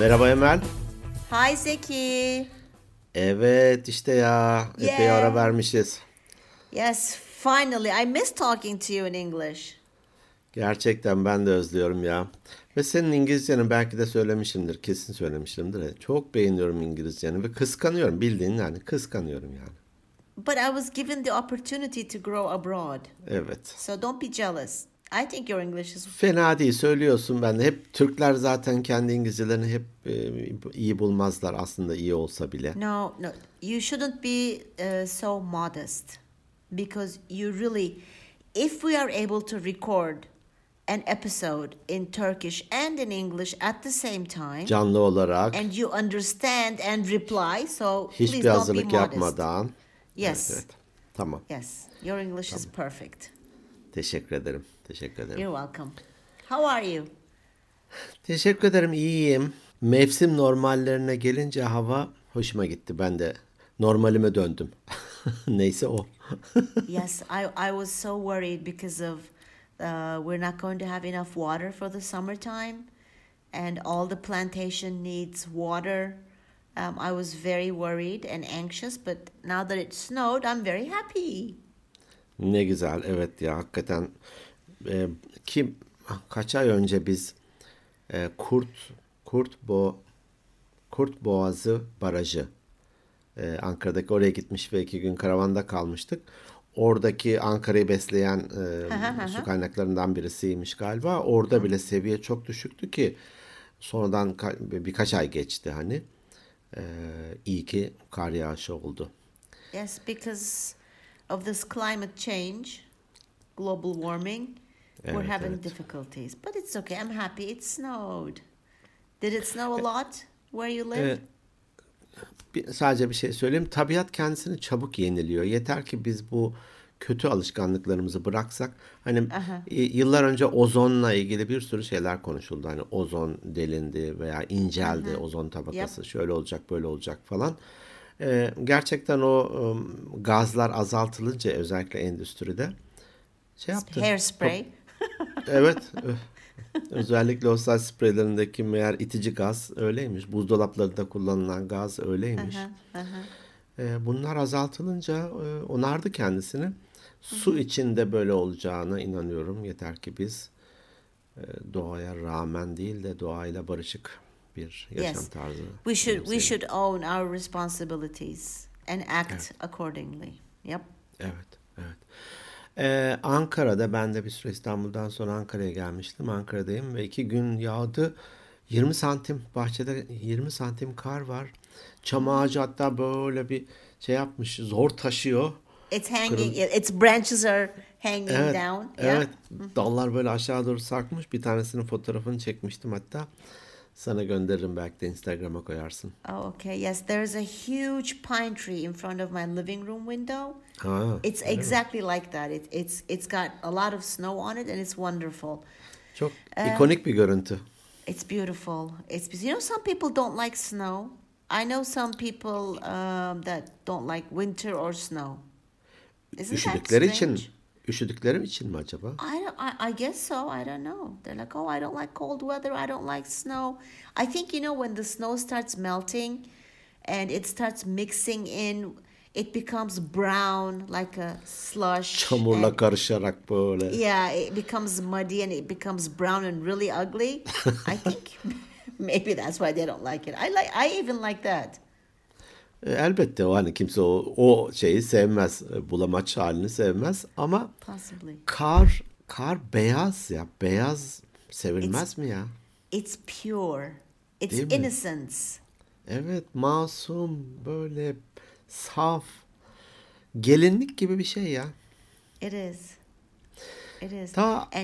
Merhaba Emel. Hi Zeki. Evet işte ya epey ara Yeah. vermişiz. Yes, finally. I miss talking to you in English. Gerçekten ben de özlüyorum ya. Ve senin İngilizcenin belki de söylemişimdir, kesin söylemişimdir. Çok beğeniyorum İngilizceni ve kıskanıyorum bildiğin yani kıskanıyorum yani. But I was given the opportunity to grow abroad. Evet. So don't be jealous. I think your English is. Fena değil söylüyorsun ben de. Hep Türkler zaten kendi İngilizcelerini hep iyi bulmazlar aslında iyi olsa bile. No, no. You shouldn't be so modest. Because you really. If we are able to record an episode in Turkish and in English at the same time, Canlı olarak and you understand and reply, so hiçbir please don't be hazırlık modest. yapmadan. Evet Yes. evet. Tamam. Yes, your English is perfect. Teşekkür ederim. Teşekkür ederim. You're welcome. How are you? Teşekkür ederim, iyiyim. Mevsim normallerine gelince hava hoşuma gitti. Ben de normalime döndüm. Neyse o. Yes, I was so worried because of we're not going to have enough water for the summertime, and all the plantation needs water. I was very worried and anxious, but now that it snowed, I'm very happy. Ne güzel, evet ya hakikaten. E, ki kaç ay önce biz e, Kurt Kurt Bo Kurt Boğazı Barajı Ankara'daki oraya gitmiş ve 2 gün karavanda kalmıştık. Oradaki Ankara'yı besleyen su kaynaklarından birisiymiş galiba. Orada bile seviye çok düşüktü ki sonradan birkaç ay geçti hani. İyi ki kar yağışı oldu. Yes, because of this climate change, global warming, we're Evet, having evet. difficulties. But it's okay. I'm happy it snowed. Did it snow a lot where you live? E, Sadece bir şey söyleyeyim. Tabiat kendisini çabuk yeniliyor. Yeter ki biz bu kötü alışkanlıklarımızı bıraksak. Hani yıllar önce ozonla ilgili bir sürü şeyler konuşuldu. Hani ozon delindi veya inceldi, ozon tabakası Yep. şöyle olacak böyle olacak falan. Gerçekten o gazlar azaltılınca özellikle endüstride şey yaptı. Hairspray. Evet. Özellikle o saç spreylerindeki meğer itici gaz öyleymiş. Buzdolaplarında kullanılan gaz öyleymiş. Bunlar azaltılınca onardı kendisini. Su içinde böyle olacağına inanıyorum. Yeter ki biz doğaya rağmen değil de doğayla barışık bir yaşam Yes. tarzı We benimseyelim. should own our responsibilities and act Evet, accordingly. Yep. evet, evet. Ankara'da ben de bir süre İstanbul'dan sonra Ankara'ya gelmiştim. Ankara'dayım ve 2 gün yağdı. 20 santim bahçede 20 santim kar var. Çam ağacı hatta böyle bir şey yapmış, zor taşıyor. It's hanging. Kırıl Its branches are hanging Evet, down. Yeah. evet. Dallar böyle aşağı doğru sarkmış. Bir tanesinin fotoğrafını çekmiştim hatta. Sana gönderirim belki de Instagram'a koyarsın. Oh, okay. Yes, there's a huge pine tree in front of my living room window. Ha, It's öyle mi? exactly like that. It's got a lot of snow on it, and it's wonderful. Çok Uh, ikonik bir görüntü. it's beautiful. Some people don't like snow. I know some people that don't like winter or snow. Isn't that Üşüdükleri için, strange? üşüdükleri için mi acaba? I guess so. I don't know. They're like, oh, I don't like cold weather. I don't like snow. I think, when the snow starts melting and it starts mixing in, it becomes brown like a slush. Çamurla And karışarak böyle. yeah, it becomes muddy and it becomes brown and really ugly. I think maybe that's why they don't like it. I even like that. Elbette o hani kimse o şeyi sevmez, bulamaç halini sevmez ama Possibly. kar beyaz ya, beyaz It's sevilmez mi ya? it's pure. It's Değil mi? innocence. Evet, masum böyle saf gelinlik gibi bir şey ya. It is. It is. Ta And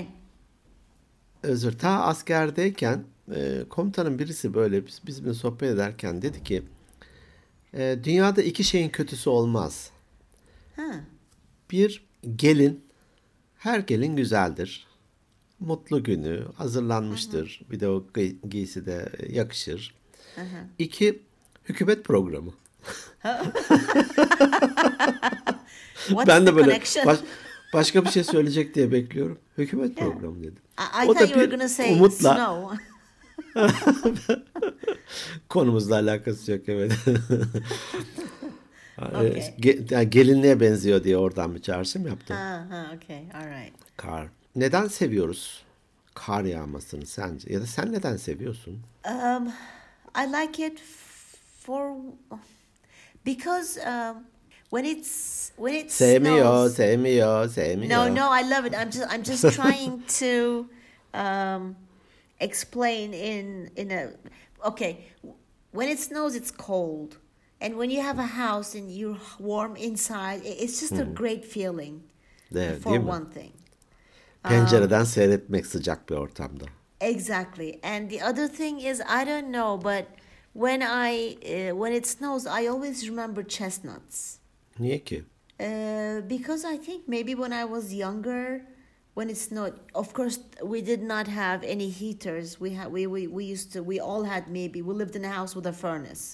ta askerdeyken komutanın birisi böyle bizimle sohbet ederken dedi ki dünyada 2 şeyin kötüsü olmaz. huh. Bir gelin, her gelin güzeldir. Mutlu günü, hazırlanmıştır. Bir de o giysi de yakışır. 2, hükümet programı. What's Ben the de böyle connection? başka bir şey söyleyecek diye bekliyorum. Hükümet Yeah. programı dedim. I O thought da you were bir gonna say umutla snow. Konumuzla alakası yok, evet. Okay. Yani gelinliğe benziyor diye oradan bir çağrışım yaptım. Okay. All right. Kar. Neden seviyoruz kar yağmasını sence? Ya da sen neden seviyorsun? I like it for because when it Sevmiyor, snows. sevmiyor, No, sevmiyor. no, I love it. I'm just trying to explain in a okay. When it snows, it's cold, and when you have a house and you're warm inside, it's just a great feeling. Değil For mi? one thing, Pencereden seyretmek sıcak bir ortamda. exactly. And the other thing is, I don't know, but when it snows, I always remember chestnuts. Niye ki? Because I think maybe when I was younger, when it's not, of course, we did not have any heaters. We all had maybe, we lived in a house with a furnace.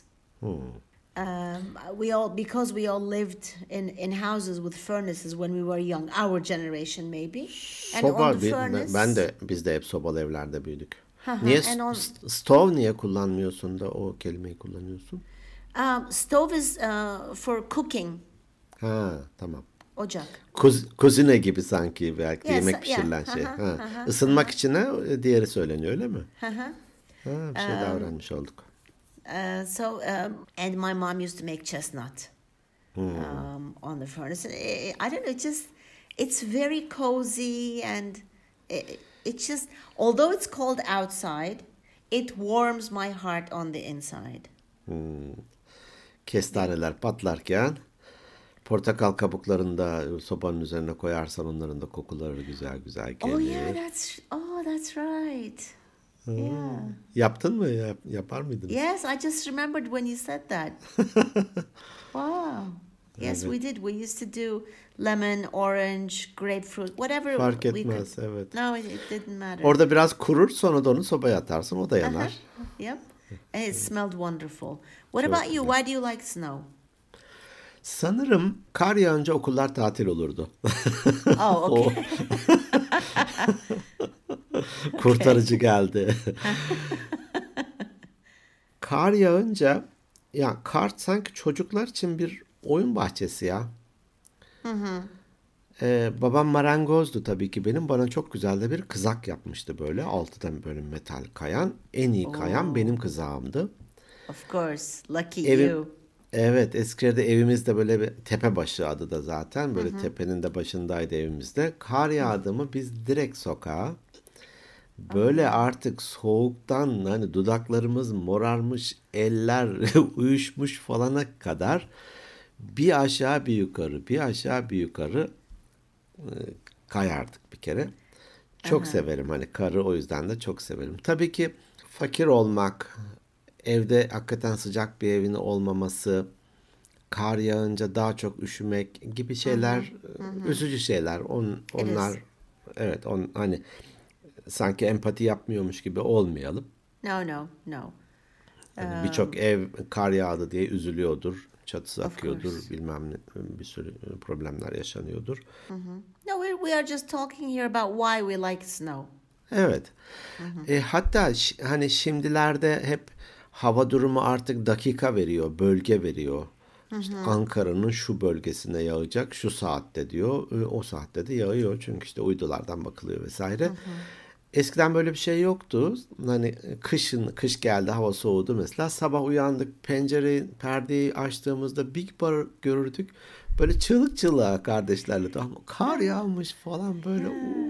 Because we all lived in houses with furnaces when we were young, our generation maybe. And Soba, on the furnace, biz de hep sobalı evlerde büyüdük. Hı. Niye And on stove niye kullanmıyorsun da o kelimeyi kullanıyorsun? stove is for cooking, Ha, tamam. ocak. Kuzine gibi sanki, belki Yes, yemek yeah. pişirilen şey. Hı hı, Ha. hı hı, Isınmak içine diğeri söyleniyor, öyle mi? Hı hı. Ha, bir şey daha öğrenmiş olduk. And my mom used to make chestnut on the furnace. And I don't know, it's very cozy, and it's just, although it's cold outside, it warms my heart on the inside. Kestaneler patlarken portakal kabuklarını da sobanın üzerine koyarsan onların da kokuları güzel güzel gelir. Oh yeah, that's right. Yeah. Yaptın mı? Yapar mıydınız? Yes, I just remembered when you said that. Wow. Yes, we did. We used to do lemon, orange, grapefruit, whatever Fark we could. etmez, evet. No, it didn't matter. Orada biraz kurur, sonra da onu sobaya atarsın, o da yanar. Yep. And it smelled wonderful. What Çok about you? güzel. Why do you like snow? Sanırım kar yağınca okullar tatil olurdu. Oh, O okay. kurtarıcı geldi. Kar yağınca, ya kar sanki çocuklar için bir oyun bahçesi ya. Babam marangozdu tabii ki benim. Bana çok güzel de bir kızak yapmıştı böyle. Altıdan böyle metal kayan. En iyi kayan benim kızağımdı. Of course. Lucky Evim, you. evet, Eskişehir'de evimizde böyle bir Tepebaşı adı da zaten. Böyle tepenin de başındaydı evimizde. Kar yağdı mı biz direkt sokağa. Böyle artık soğuktan hani dudaklarımız morarmış, eller uyuşmuş falana kadar bir aşağı bir yukarı, bir aşağı bir yukarı kayardık bir kere. Çok severim hani karı, o yüzden de çok severim. Tabii ki fakir olmak, evde hakikaten sıcak bir evin olmaması, kar yağınca daha çok üşümek gibi şeyler, üzücü şeyler. Onlar, evet, hani sanki empati yapmıyormuş gibi olmayalım. No. Yani birçok ev kar yağdı diye üzülüyordur. Çatısı Of akıyordur, course. bilmem ne, bir sürü problemler yaşanıyordur. No, we are just talking here about why we like snow. Evet. Hatta hani şimdilerde hep hava durumu artık dakika veriyor, bölge veriyor. İşte Ankara'nın şu bölgesine yağacak şu saatte diyor. O saatte de yağıyor çünkü işte uydulardan bakılıyor vesaire. Eskiden böyle bir şey yoktu. Hani kış geldi, hava soğudu mesela. Sabah uyandık, perdeyi açtığımızda Big Bar görürdük. Böyle çığlık çığlığa kardeşlerle, tamam mı? Kar yağmış falan böyle.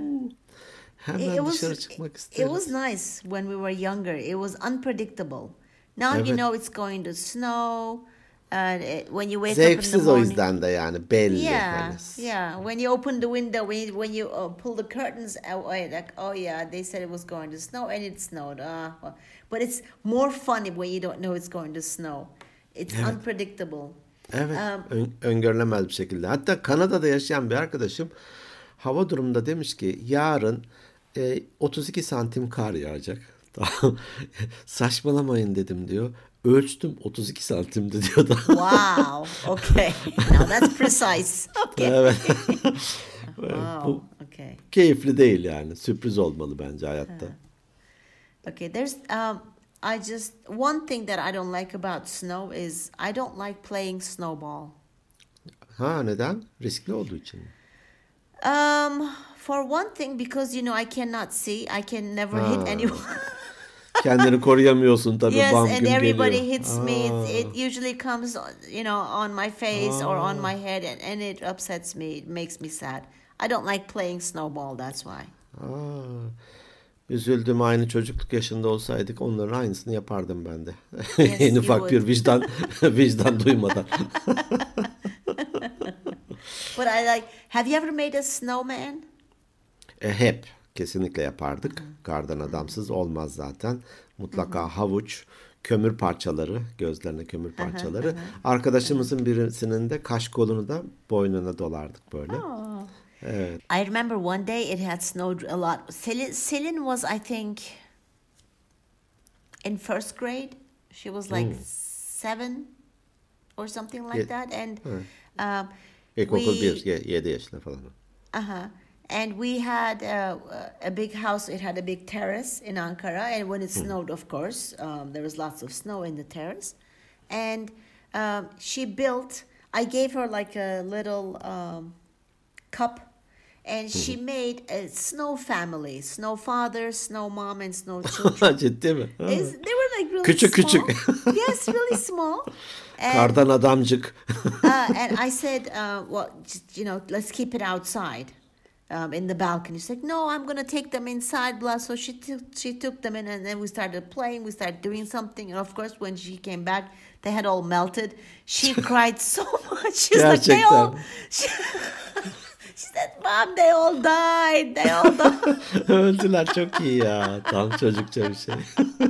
Hemen dışarı çıkmak It isteriz. was nice when we were younger. It was unpredictable. Now you Evet. know it's going to snow. When you wake up in the Zevksiz o morning. yüzden de yani belli. Yeah, Hani. yeah. When you open the window, when you pull the curtains away, like, oh yeah, they said it was going to snow, and it snowed. But it's more funny when you don't know it's going to snow. It's unpredictable. Evet, öngörülemez bir şekilde. Hatta Kanada'da yaşayan bir arkadaşım hava durumunda demiş ki yarın 32 santim kar yağacak. Tamam. Saçmalamayın dedim diyor. Ölçtüm 32 santimdi diyor da. Wow. Okay. Now that's precise. Okay. Evet. Wow. Bu Okay. keyifli değil yani. Sürpriz olmalı bence hayatta. Okay, there's I just one thing that I don't like about snow is I don't like playing snowball. Ha, neden? Riskli olduğu için mi? For one thing, because I cannot see, I can never hit anyone. Ha, kendini koruyamıyorsun tabii, Yes, bam and güm everybody geliyor. hits me. Aa, It usually comes, on my face or on aa, my head, and it upsets me. It makes me sad. I don't like playing snowball. That's why. aa. Üzüldüm, aynı çocukluk yaşında olsaydık onların aynısını yapardım ben de. En Yes, you ufak bir would. vicdan duymadan. But I like. Have you ever made a snowman? Hep kesinlikle yapardık. Kardan adamsız olmaz zaten. Mutlaka havuç, kömür parçaları, gözlerine kömür parçaları. Arkadaşımızın birisinin de kaş kolunu da boynuna dolardık böyle. Oh. Evet. I remember one day it had snowed a lot. Celine was, I think, in first grade. She was like 7 or something like Ye- that, and Hı. um, İlkokul we 1, 7 yaşında falan. Uh-huh. And we had a big house. It had a big terrace in Ankara. And when it snowed, of course, there was lots of snow in the terrace. And she built, I gave her like a little cup. And she made a snow family, snow father, snow mom, and snow children. Ciddi mi? Ha. They were like really Küçük small. küçük. Yes, really small. And Kardan adamcık. and I said, well, just, let's keep it outside, in the balcony. She's like, no, I'm gonna take them inside, blah. So she took them in, and then we started playing. We started doing something, and of course, when she came back, they had all melted. She cried so much. She's like, Gerçekten. She said, Mom, they all died. They all died. Öldüler, çok iyi ya. Tam çocukça bir şey.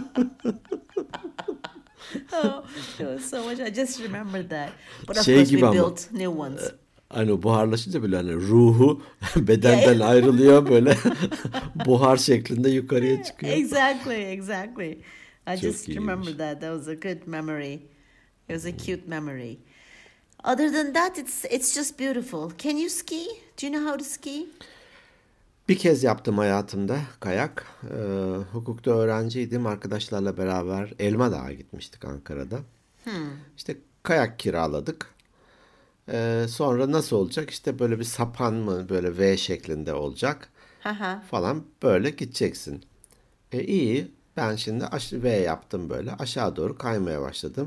Oh, it was so much. I just remembered that. But of Şey course, we gibi ama. built new ones. Hani buharlaşınca böyle hani ruhu bedenden ayrılıyor, böyle buhar şeklinde yukarıya çıkıyor. Exactly. I Çok just iyiymiş. remember that. That was a good memory. It was a cute memory. Other than that, it's just beautiful. Can you ski? Do you know how to ski? Bir kez yaptım hayatımda kayak. Hukukta öğrenciydim. Arkadaşlarla beraber Elma Dağı'na gitmiştik Ankara'da. İşte kayak kiraladık. Sonra nasıl olacak? İşte böyle bir sapan mı, böyle V şeklinde olacak Haha. falan, böyle gideceksin. İyi. Ben şimdi V yaptım böyle. Aşağı doğru kaymaya başladım.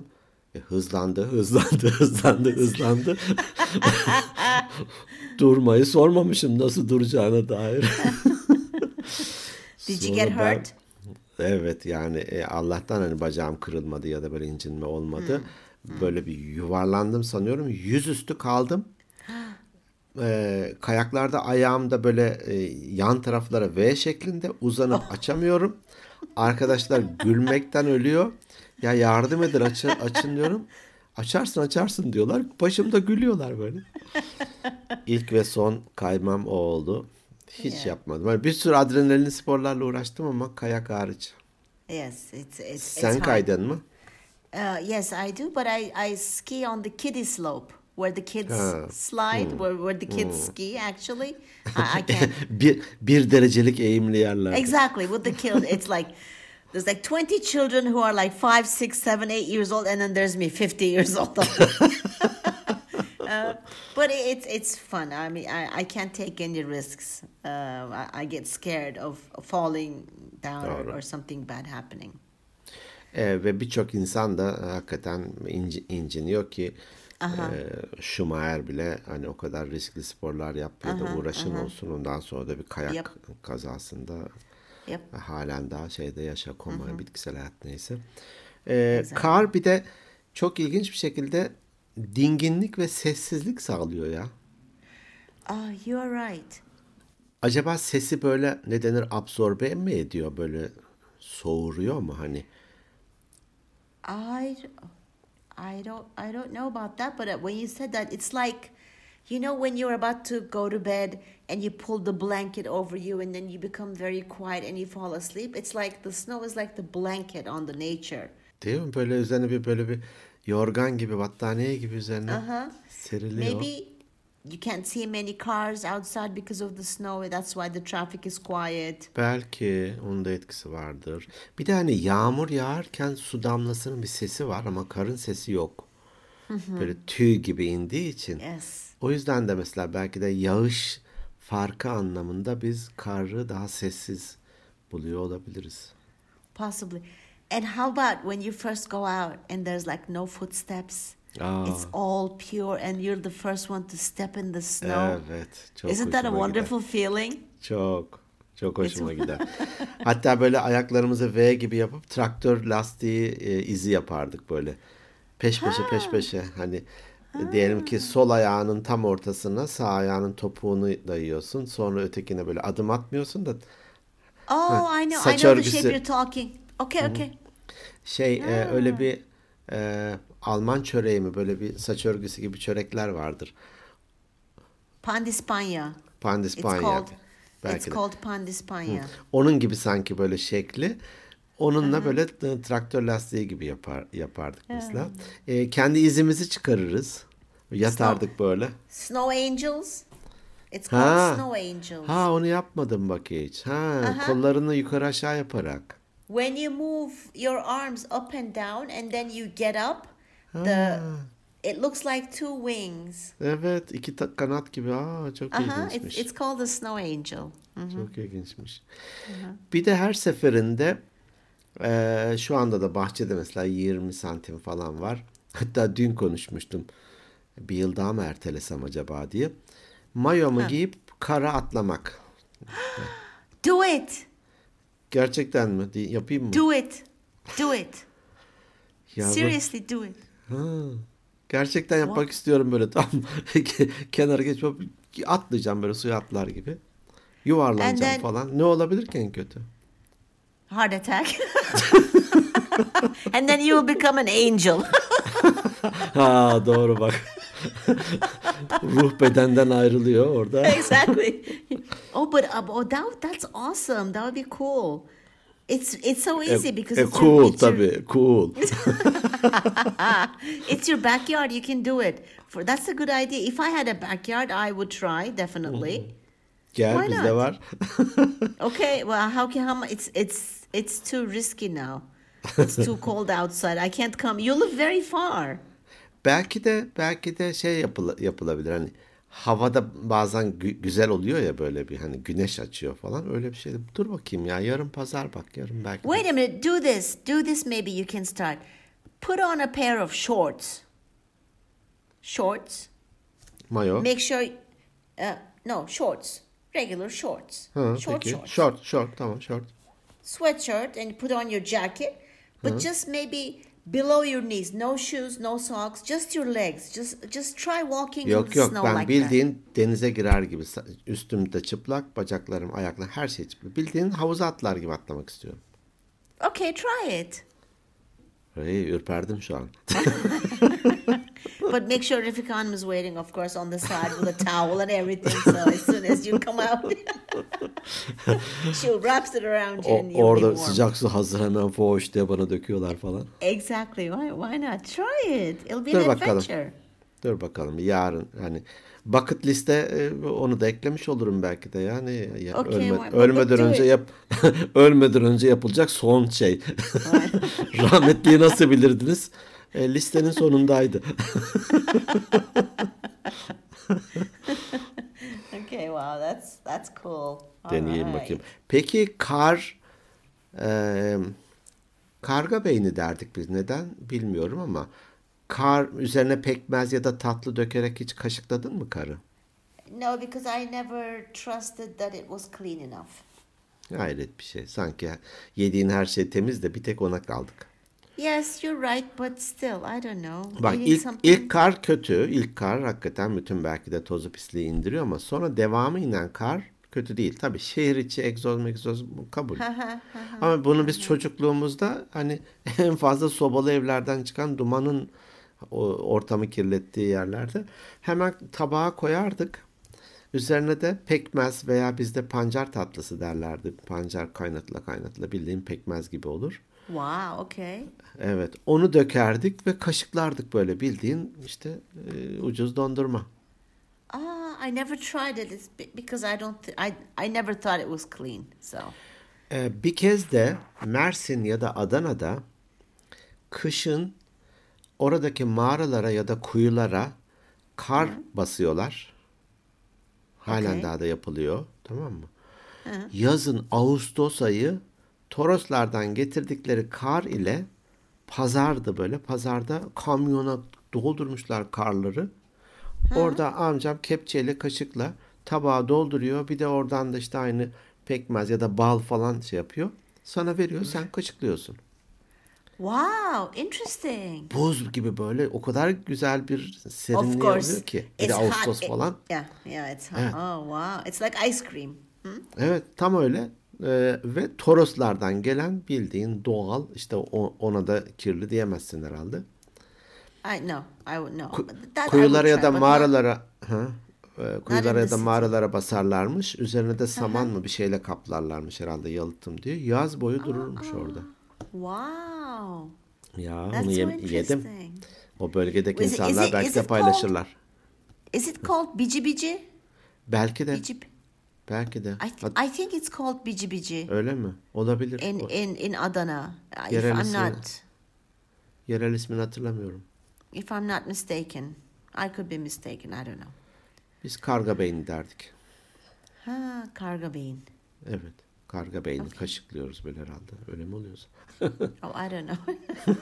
Hızlandı. Durmayı sormamışım, nasıl duracağına dair. Did you get Sonra ben, hurt? evet yani Allah'tan hani bacağım kırılmadı ya da böyle incinme olmadı. Böyle bir yuvarlandım sanıyorum. Yüzüstü kaldım. Kayaklarda ayağımda böyle yan taraflara V şeklinde uzanıp açamıyorum. Arkadaşlar gülmekten ölüyor. Ya yardım edin, açın diyorum. Açarsın diyorlar. Başımda gülüyorlar böyle. İlk ve son kaymam o oldu. Hiç Yeah. yapmadım. Hani bir sürü adrenalin sporlarla uğraştım ama kayak hariç. Yes, it's Sen hard. kaydın mı? Yes, I do, but I ski on the kiddie slope where the kids Ha. slide, where the kids ski. Actually, I can't. Bir derecelik eğimli yerlerde. Exactly, with the kid, it's like there's like 20 children who are like 5, 6, 7, 8 years old, and then there's me, 50 years old. But it's fun. I mean, I can't take any risks. I get scared of falling down Doğru. or something bad happening. Ve birçok insan da hakikaten inciniyor ki Schumacher bile hani o kadar riskli sporlar yapıyor da uğraşın olsun. Ondan sonra da bir kayak Yep. kazasında Yep. halen daha şeyde koma, bitkisel hayat neyse. Exactly. Kar bir de çok ilginç bir şekilde dinginlik ve sessizlik sağlıyor ya. You are right. Acaba sesi böyle ne denir, absorbe mi ediyor, böyle soğuruyor mu hani? I don't know about that, but when you said that, it's like, when you're about to go to bed and you pull the blanket over you and then you become very quiet and you fall asleep. It's like the snow is like the blanket on the nature. Değil mi? Böyle üzerine böyle bir yorgan gibi, battaniye gibi üzerine Uh-huh. seriliyor. Maybe you can't see many cars outside because of the snow. That's why the traffic is quiet. Belki onun da etkisi vardır. Bir de hani yağmur yağarken su damlasının bir sesi var ama karın sesi yok. Böyle tüy gibi indiği için. Yes. O yüzden de mesela belki de yağış farkı anlamında biz karı daha sessiz buluyor olabiliriz. Possibly. And how about when you first go out and there's like no footsteps? It's all pure and you're the first one to step in the snow. Evet, çok Isn't that a hoşuma gider. wonderful feeling? Çok, çok hoşuma gider. Hatta böyle ayaklarımızı V gibi yapıp traktör lastiği izi yapardık böyle. Peş peşe peş peşe. Hani diyelim ki sol ayağının tam ortasına sağ ayağının topuğunu dayıyorsun. Sonra ötekine böyle adım atmıyorsun da Oh, I saç know the shape örgüsü you're talking. Okay, okay. öyle bir Alman çöreği mi böyle bir saç örgüsü gibi çörekler vardır. Pandispanya. It's Pandispanya. called Belki it's de. called pandispanya. Onun gibi sanki böyle şekli. Onunla böyle traktör lastiği gibi yapardık mesela. Kendi izimizi çıkarırız. Yatardık böyle. Snow angels. It's called Ha. snow angels. Ha onu yapmadım bak hiç. Kollarını yukarı aşağı yaparak. When you move your arms up and down and then you get up, it looks like two wings. Evet, iki kanat gibi. Çok ilginçmiş. It's called the snow angel. Çok ilginçmiş. Bir de her seferinde şu anda da bahçede mesela 20 santim falan var. Hatta dün konuşmuştum. Bir yıl daha mı ertelesem acaba diye. Mayomu giyip kara atlamak. Do it. Gerçekten mi? Yapayım mı? Do it. Do it. Ya Seriously, do it. gerçekten yapmak istiyorum böyle tam kenara geçip atlayacağım böyle suya atlar gibi. Yuvarlanacağım And then- falan. Ne olabilir ki en kötü? Heart attack. And then you will become an angel. Doğru bak. Ruh bedenden ayrılıyor orada. Exactly. But that's awesome. That would be cool. It's so easy because it's Cool it's your, tabii. Cool. it's your backyard. You can do it. That's a good idea. If I had a backyard, I would try definitely. Gel Why bizde not? var. Okay. Well, it's too risky now. It's too cold outside. I can't come. You live very far. Belki de şey yapılabilir hani havada bazen güzel oluyor ya böyle bir hani güneş açıyor falan öyle bir şey. Dur bakayım ya yarın pazar bak yarın belki. Wait a minute. Do this. Do this. Maybe you can start. Put on a pair of shorts. Shorts. Mayo. Make sure. No, shorts. Regular shorts. Short Peki. shorts. Short tamam short. Sweatshirt and put on your jacket, but just maybe below your knees. No shoes, no socks, just your legs. Just try walking in Yok the yok snow ben like bildiğin denize girer gibi üstümde çıplak bacaklarım ayaklarım her şey çıplak. Bildiğin havuza atlar gibi atlamak istiyorum. that. Okay, try it. Ürperdim şu an. But make sure Rafika Hanım is waiting, of course, on the side with a towel and everything. So as soon as you come out, she wraps it around you and you'll be Orada warm. sıcak su hazır hemen foş diye bana döküyorlar falan. Exactly. Why not? Try it. It'll be Dur an bakalım. adventure. Dur bakalım yarın hani bucket liste onu da eklemiş olurum belki de yani Okay, but ölmeden do önce it. ölmeden önce yapılacak son şey. Rahmetliyi nasıl bilirdiniz? Listenin sonundaydı. Okay, wow, that's cool. All Deneyeyim right. bakayım. Peki karga beyni derdik biz. Neden bilmiyorum ama kar üzerine pekmez ya da tatlı dökerek hiç kaşıkladın mı karı? No, because I never trusted that it was clean enough. Hayret bir şey. Sanki yediğin her şey temiz de bir tek ona kaldık. Yes, you're right, but still, I don't know. Bak Eating ilk something- kar kötü. İlk kar hakikaten bütün belki de tozu pisliği indiriyor ama sonra devamı inen kar kötü değil. Tabii şehir içi egzoz bu kabul. Ama bunu biz çocukluğumuzda hani en fazla sobalı evlerden çıkan dumanın ortamı kirlettiği yerlerde hemen tabağa koyardık. Üzerine de pekmez veya bizde pancar tatlısı derlerdi. Pancar kaynatıla bildiğin pekmez gibi olur. Wow, okay. Evet, onu dökerdik ve kaşıklardık böyle bildiğin işte ucuz dondurma. I never tried it. It's because I don't. I never thought it was clean. So. Bir kez de Mersin ya da Adana'da kışın oradaki mağaralara ya da kuyulara kar basıyorlar. Halen Okay. daha da yapılıyor. Tamam mı? Yazın Ağustos ayı Toroslardan getirdikleri kar ile pazardı böyle. Pazarda kamyona doldurmuşlar karları. Orada amcam kepçeyle kaşıkla tabağa dolduruyor. Bir de oradan da işte aynı pekmez ya da bal falan şey yapıyor. Sana veriyor, sen kaşıklıyorsun. Wow, interesting. Buz gibi böyle o kadar güzel bir Of serinliği course, oluyor ki. Bir de it's hot. Ağustos falan. Yeah, yeah, it's hot. Evet. Oh, wow. It's like ice cream. Evet, tam öyle. Ve Toroslardan gelen bildiğin doğal, işte ona da kirli diyemezsin herhalde. I know. I would know. Ku- But that I Kuyulara would ya try, da but mağaralara not kuyulara in ya the da city. mağaralara basarlarmış. Üzerine de saman mı bir şeyle kaplarlarmış herhalde, yalıtım diye. Yaz boyu dururmuş orada. Wow. Ya onu That's so yedim. interesting. O bölgedeki Is it, is insanlar it, belki is de it called, paylaşırlar. is it called biji biji? Belki de. Biji, Belki de. I think it's called biji biji Öyle mi? Olabilir. in Adana. If Yerel I'm ismi, not yerel ismini hatırlamıyorum. if I'm not mistaken. I could be mistaken. I don't know. Biz karga beyni derdik. Ha, karga bean. Evet. Karga beyni kaşıklıyoruz böyle herhalde. Öyle mi oluyorsa? Oh, I don't know.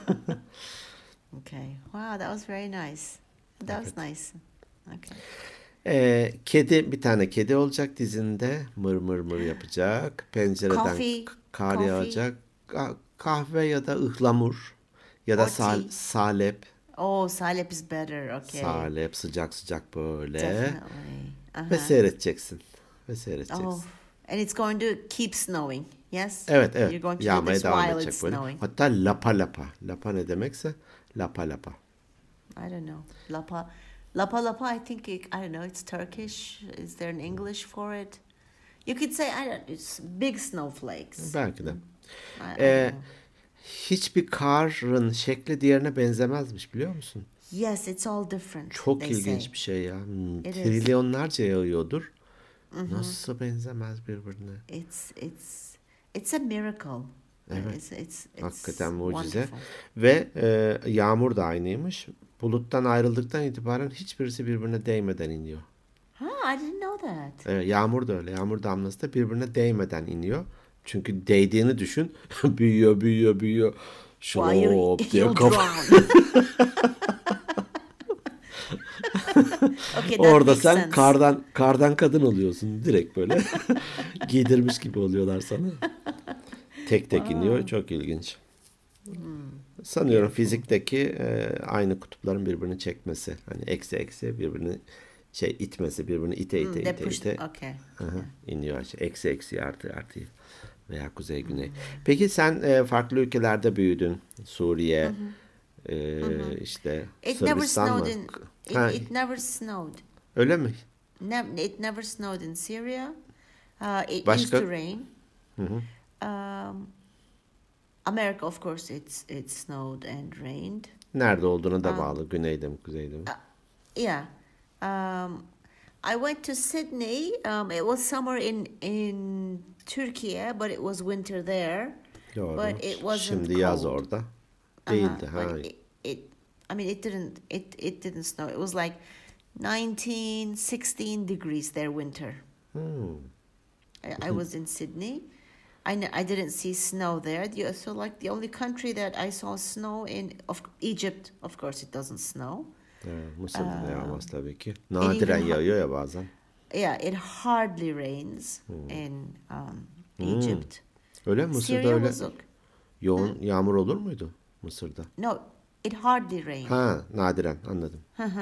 Okay. Wow, that was very nice. That was nice. Okay. Kedi, bir tane kedi olacak dizinde. Mır mır mır yapacak. Pencereden Coffee. kar Coffee. yağacak. Kahve ya da ıhlamur. Ya da Or tea. salep. Oh, salep is better. Okay. Salep sıcak sıcak böyle. Definitely. Ve seyredeceksin. Ve seyredeceksin. Oh, and it's going to keep snowing. Yes? Evet You're evet. going to do Yağmaya this devam while edecek it's böyle. snowing. Hatta lapa lapa. Lapa ne demekse lapa lapa. I don't know. Lapa. Lapa lapa, I think, I don't know, it's Turkish. Is there an English for it? You could say, I don't it's big snowflakes. Belki de. I Ee, don't know. hiçbir karın şekli diğerine benzemezmiş, biliyor musun? Yes, it's all different, Çok they ilginç say. bir şey ya. It is. Trilyonlarca yağıyordur. Nasıl benzemez birbirine? It's a miracle. Evet. It's Hakikaten mucize. wonderful. Ve yağmur da aynıymış. Buluttan ayrıldıktan itibaren hiçbirisi birbirine değmeden iniyor. Huh, I didn't know that. Yağmur da öyle. Yağmur damlası da birbirine değmeden iniyor. Çünkü değdiğini düşün. Büyüyor, büyüyor, büyüyor. Why Şlop diye you'll kafa. drown. Okay, that Orada makes sen sense. kardan kadın oluyorsun. Direkt böyle giydirmiş gibi oluyorlar sana. Tek tek iniyor. Çok ilginç. Sanıyorum fizikteki aynı kutupların birbirini çekmesi. Hani eksi eksi birbirini itmesi, birbirini ite ite They ite push. ite Okay. iniyor. Eksi eksi artı artı veya kuzey güney. Peki sen farklı ülkelerde büyüdün. Suriye, işte It never Sırbistan snowed mı? in. Ha, It never snowed. öyle mi? It never snowed in Syria. It Başka? used to rain. America, of course, it snowed and rained. Nerede olduğuna da bağlı. Güneyde mi, kuzeyde mi? Yeah. I went to Sydney. It was summer in Turkey, but it was winter there. Doğru. But it wasn't Şimdi yaz cold. orada. Değildi. Ha. But I mean, it didn't snow. It was like 19, 16 degrees there winter. I was in Sydney. I didn't see snow there. So like the only country that I saw snow in Egypt, of course it doesn't snow. Mısır'da da yağmaz tabii ki. Nadiren even- yağıyor ya bazen. Yeah, it hardly rains in Egypt. Öyle mi? Mısır'da Syria öyle was okay. yoğun yağmur olur muydu Mısır'da? No, it hardly rained. Ha, nadiren, anladım.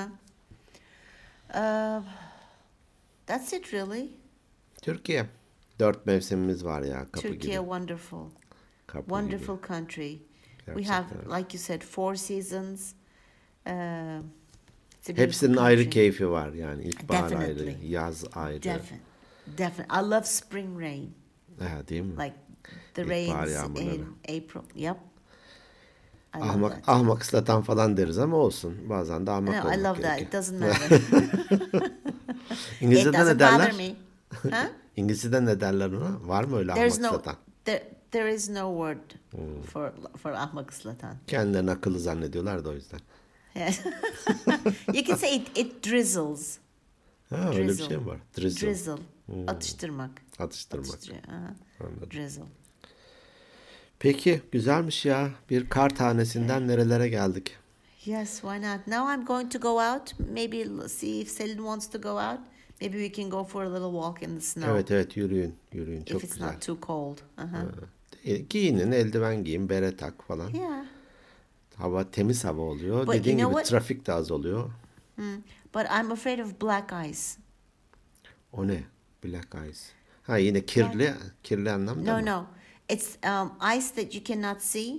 That's it really. Türkiye. 4 mevsimimiz var ya, kapı Turkey, gibi. wonderful. Kapı Wonderful gibi. country. We Gerçekten have, öyle. like you said, 4 seasons. It's a beautiful Hepsinin ayrı country. keyfi var yani. İlkbahar ayrı, Definitely. yaz ayrı. Definitely. I love spring rain. Ha, değil mi? Like the İlkbahar rains yağmurları. in April. Yep. I love Ahmak, that. ahmak ıslatan falan deriz ama olsun. Bazen de ahmak No, I olmak love that. gerekiyor. It doesn't matter. It İngilizce'de ne doesn't bother derler? me. Huh? İngilizce'de ne derler ona? Var mı öyle There's ahmak no satan? there is no word for ahmak ıslatan. Kendilerini akıllı zannediyorlar da o yüzden. Yes. You can say it drizzles. Ha, öyle bir şey mi var? Drizzle. Drizzle. Atıştırmak. Atıştırmak. Aha. Anladım. Drizzle. Peki, güzelmiş ya. Bir kar tanesinden nerelere geldik? Yes, why not? Now I'm going to go out. Maybe see if Selin wants to go out. Maybe we can go for a little walk in the snow. Evet, yürüyün. Yürüyün, çok If it's güzel. not too cold. Giyinin, eldiven giyin, bere tak falan. Yeah. Hava temiz hava oluyor. But Dediğin you know gibi what? trafik de az oluyor. But I'm afraid of black ice. O ne? Black ice. Ha, yine kirli, kirli anlamda No, mı? no. It's ice that you cannot see.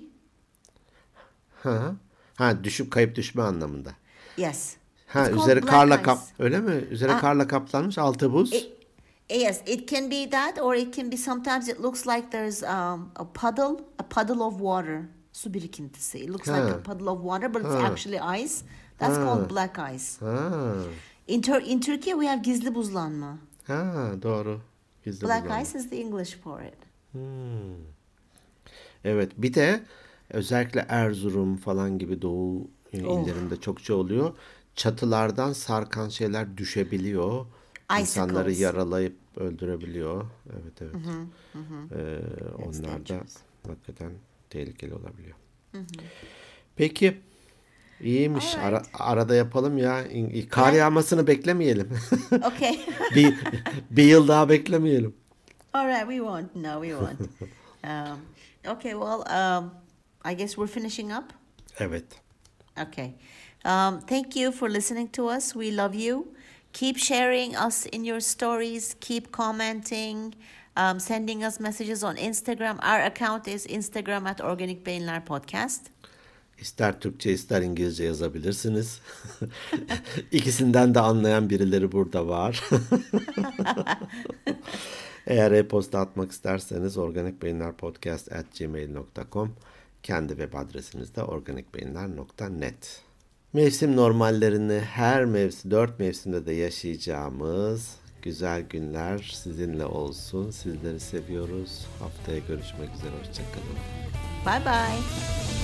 Ha, düşüp kayıp düşme anlamında. Yes. Ha, It's called üzeri black karla ice. öyle mi? Üzeri karla kaplanmış, altı buz. Yes, it can be that, or it can be sometimes it looks like there's a puddle of water. Su birikintisi. It looks like a puddle of water, but it's actually ice. That's called black ice. Ha, In Turkey we have gizli buzlanma. doğru. Gizli Black buzlanma. ice is the English for it. Evet, bir de özellikle Erzurum falan gibi doğu illerinde çokça oluyor. Çatılardan sarkan şeyler düşebiliyor. İnsanları Icicles. yaralayıp öldürebiliyor. Evet. Onlar da dangerous. hakikaten tehlikeli olabiliyor. Peki, iyiymiş. Alright. Arada yapalım ya. Kar yağmasını beklemeyelim. Okay. bir yıl daha beklemeyelim. All right, we won't. No, we won't. Okay, well, I guess we're finishing up. Evet. Okay. Thank you for listening to us. We love you. Keep sharing us in your stories. Keep commenting. Sending us messages on Instagram. Our account is Instagram @organikbeyinler_podcast. İster Türkçe ister İngilizce yazabilirsiniz. İkisinden de anlayan birileri burada var. Eğer e-posta atmak isterseniz organikbeyinlerpodcast@gmail.com, kendi web adresimiz de organikbeyinler.net. Mevsim normallerini her mevsim, 4 mevsimde de yaşayacağımız güzel günler sizinle olsun. Sizleri seviyoruz. Haftaya görüşmek üzere. Hoşçakalın. Bye bye.